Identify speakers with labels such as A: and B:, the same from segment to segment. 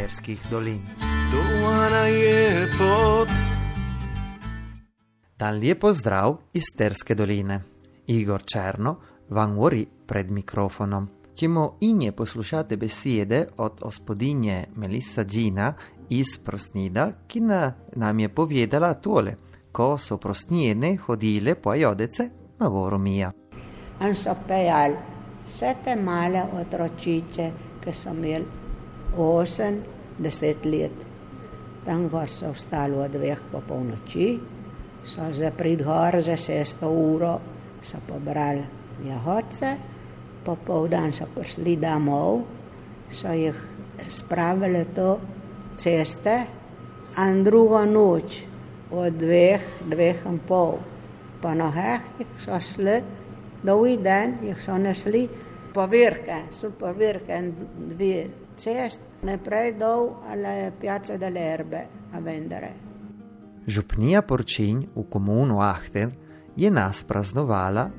A: Sterskih dolin.
B: Doana je pot.
A: Dan lijep pozdrav iz Sterske doline. Igor Černo vam govori pred mikrofonom. Ćemo inje poslušate besede od gospodinje Melissa Gina iz Prosnida, ki nam je povedala tole, ko so prosnjene hodile po Ajodece na goru Mija.
C: On so pejali vse te male otročiče, ki so imeli 8-10 let. Tam gor so vstali od 2 po polnoči, so za prid gor za 6 uro, so pobrali jahodce, popoldan so prišli domov, so jih spravili to ceste, in drugo noč od 2-2,5 po nohah jih so šli, dolgi dan jih so nesli povirke, so povirke in 2 cest, naprej dol alle Piazza delle Erbe a vendere.
A: Župnija Porčinj v komunu Ahten je nas praznovala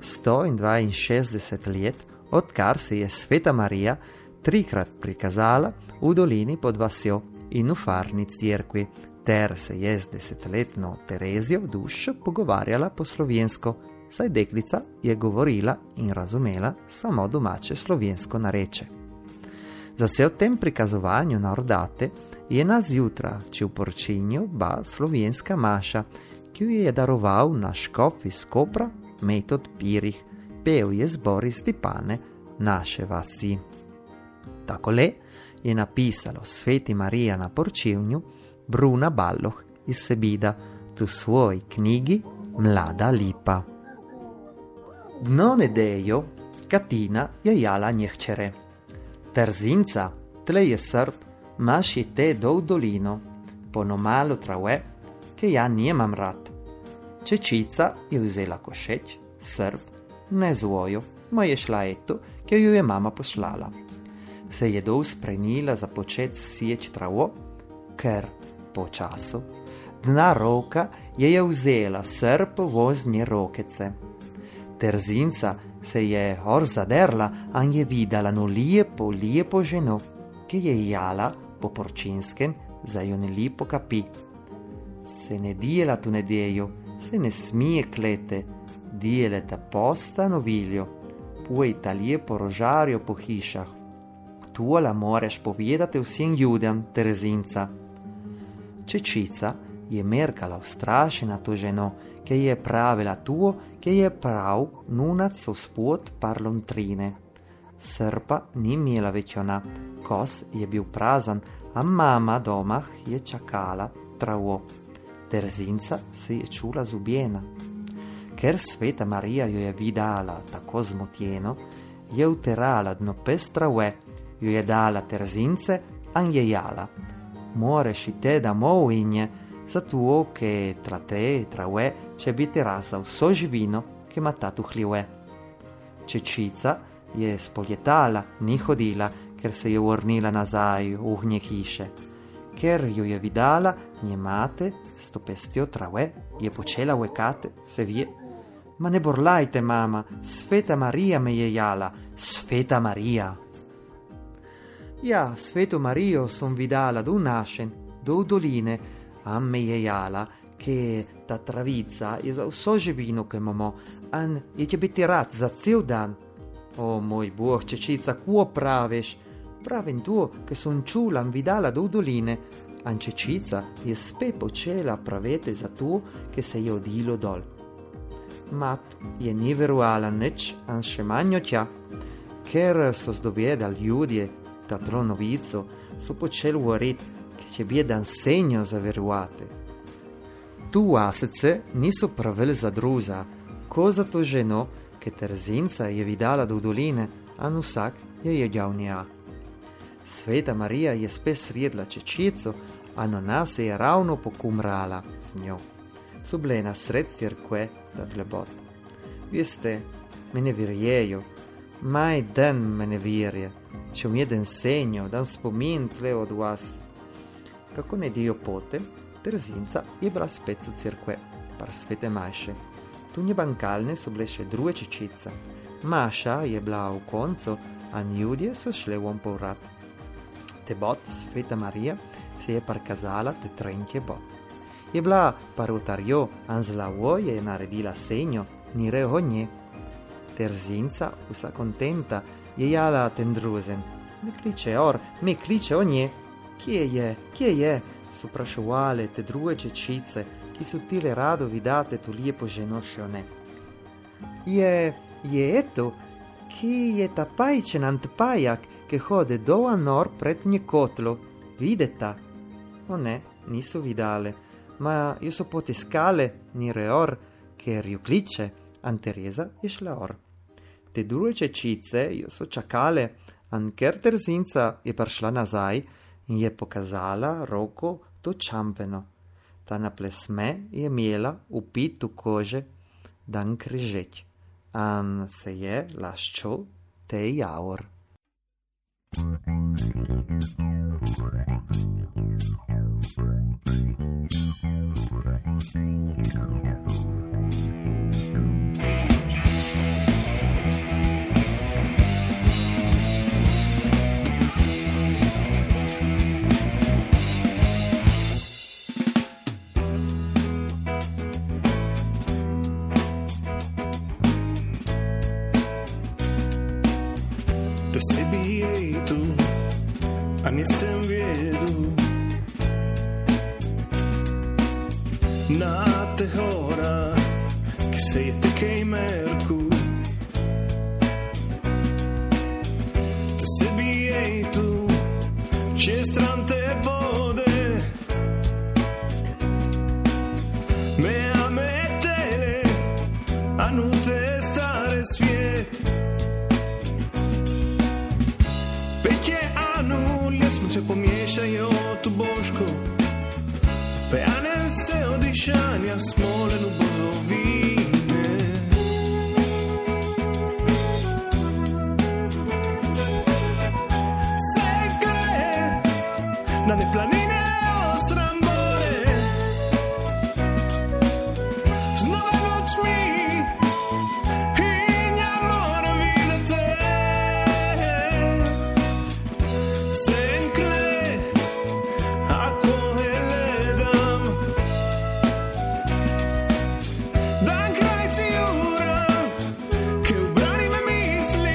A: 162 let, odkar se je Sveta Marija 3-krat prikazala v dolini pod vasjo in v farni cerkvi, ter se je z 10-letno Terezijo dušo pogovarjala po slovensko, saj deklica je govorila in razumela samo domače slovensko nareče. Za se o tem prikazovanju na Ordate je na zjutra, če v Porčinju ba slovenska maša, ki jo je daroval na škof iz Kopra Metod Pirih, pel je zbor iz Stipane naše vasi. Takole je napisalo Sveti Marija na Porčinju Bruna Balloh iz Sebida v svoji knjigi Mlada lipa. Dno nedeljo Katina je jala njehčere. Terzinca, tle je Srb, maši te dol dolino, ponomalo trave, ke ja njemam rad. Čečica je vzela košeč, Srb, ne zvojo, ma je šla eto, ke ju je mama poslala. Se je dol sprenila za počet sječ travo, ker po času dna roka je vzela Srb voznje rokece. Terzinca se je hor zaderla, an je videla no lijepo ženo, ki je jala po porčinskem za jo ne lipo kapi. Se ne dijela tu nedeljo, se ne smije klete, dijeleta posta noviljo, pujta lijepo rožarjo po hišah. Tuola moreš povedati vsem ljudem, Terzinca. Čečica je merkala ustrašena to ženo, ki je pravila tuo, ki je prav nunac spod parlontrine. Srpa ni imela več ona, kos je bil prazan, a mama doma je čakala travo. Terzinca se je čula zubjena. Ker Sveta Marija jo je videla tako zmotjeno, je uterala dno pes trave, jo je dala Terzince, an je jala. Moreš ite domov inje, zato che tra te e tra ue c'è biti rasa vso živino, che mata tu hlive. Čečica je spoljetala, ni hodila, ker se je vrnila nazaj v hnje hiše. Ker jo je vidala, nje mate, s to pestjo trave, je počela vekate, se vie. Ma ne borlajte, mama, Sveta Marija me je jala, Sveta Marija. Ja, Sveto Marijo som vidala do našen, do doline, a me je jala, che ta travica je za vso živino, che imamo, an je će biti rad za cel dan. O, moj Bog, Čečica, kuo praviš? Pravim tu, che son čula vidala do doline, an Čečica je spet počela pravete za to, che se je odilo dol. Mat je ni verovala nič, an še manjo tja, ker so zdovedali ljudje ta tronovico, so počeli govoriti, che će bjedan senjo zaverovati. Tu asece niso pravili za druza, ko za to ženo, che Terzinca je vidala do doline, an vsak je jedjal nja. Sveta Marija je spet sredla Čečico, an ona se je ravno pokumrala z njo. So bile na sred cerkve ta tlebot. Veste, me ne verjejo, maj dan me ne verje, če mi jedan senjo, dan spomin tle od vas. Kako ne dio potem, Terzinca je bila spet v cerkve, par Svete Maše. Tu nje bankalne so bile še druge Čečica. Maša je bila v koncu, a ljudje so šli von povrat. te bot Sveta Maria se je parkazala te trenke bot. Je bila parutarjo anzlavo je naredila senjo, ni rehonje. Terzinca, vsa kontenta, je jala tendruzen. Me kliče onje. Kje je? So prašovale te druge čečice, ki so tile rado vidate tu lijepo ženošone. Je eto, ki je ta pajčen antpajak, ki hode dol nor pred nje kotlo. Videta? O ne, niso vidale, ma jo so potiskale ni reor, ker ju kliče, an Tereza je šla or. Te druge čečice jo so čakale, an ker Terzinca je prišla nazaj in je pokazala roko to čampeno. Ta na plesme je imela upit v kože dan križeč, an se je laščo te javor.
B: Da sebi jej tu, a nisem vedel. Na te hora, ki se je tekej merku. Da sebi jej tu, čez stran te vode. Me ametele, a nu te stare svijet. Petje anulje se pomiješajo tu boško, pejane se odišanja smolenu bozovine. Se gre na ne planine ostrambore, z nove nočmi in ja moram videti. Senkle, ako gledam, dan kraj si ura, ki ubrani me misli.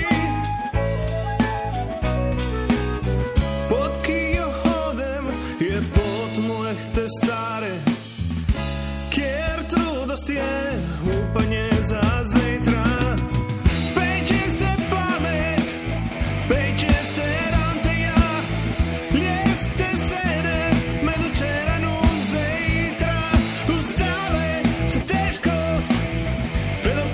B: Pot, ki jo hodem, je pot mojih te stare, kjer trudost je upanje za zajtra. Peče se pamet, peče se ranteja, ljeste sede med včeraj in zajtra. Ustave se težkost, pred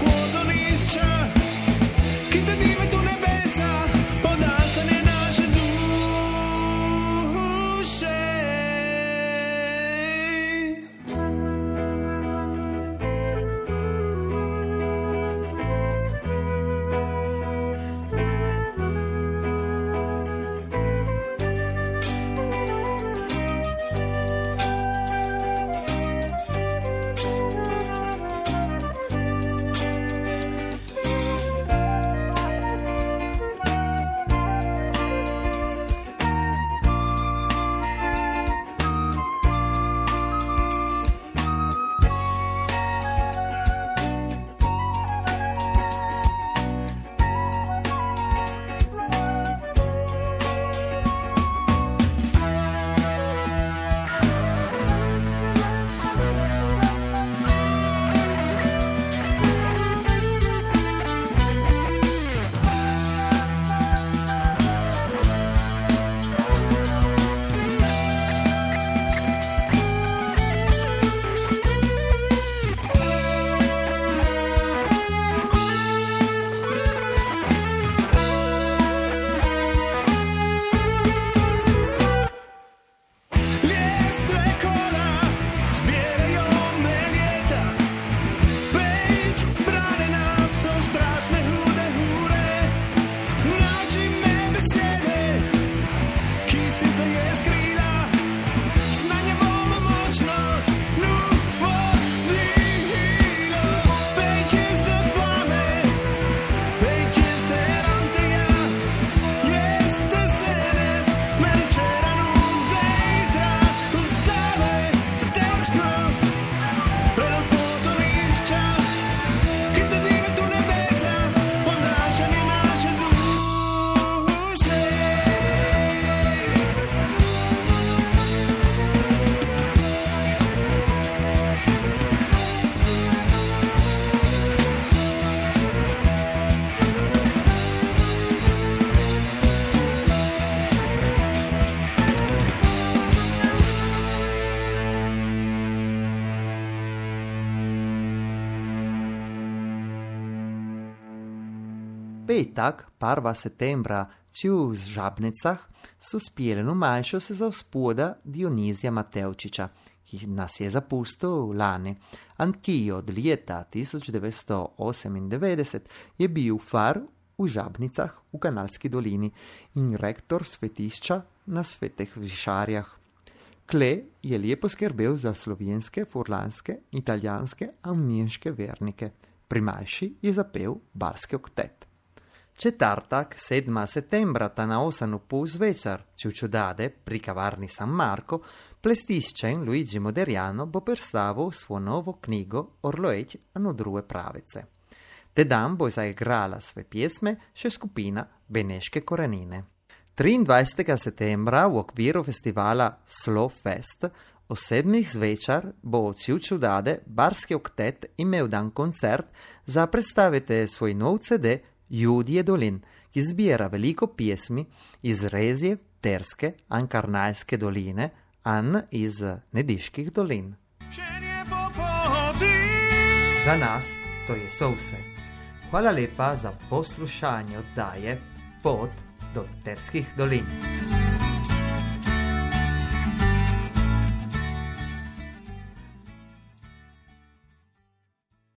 A: petak, 1. septembra, v Žabnicah, so spjeli numalšo se za gospoda Dionizija Matevčiča, ki nas je zapustil lani. Anch'io od leta 1998 je bil far v Žabnicah v Kanalski dolini in rektor svetišča na Svetih Višarjah. Kle je lepo skrbel za slovenske, furlanske, italijanske in nemške vernike. Pri Majši je zapel barski oktet. Četrtak, 7. septembra, ta na 8:30 zvečer, čudade pri kavarni San Marco, plestiščen Luigi Moderiano bo predstavil svojo novo knjigo Orloeč ano druge pravice. Te dan bo zaigrala sve pjesme še skupina Beneške korenine. 23. septembra v okviru festivala Slow Fest o 7. zvečer bo čudade barski oktet imel dan koncert za predstaviti svoj nov CD Judje dolin, ki zbira veliko pjesmi iz Rezije, Terske, Ankarnajske doline in iz Nediških dolin. Za nas to je vse. Hvala lepa za poslušanje oddaje Pot do Terskih dolin.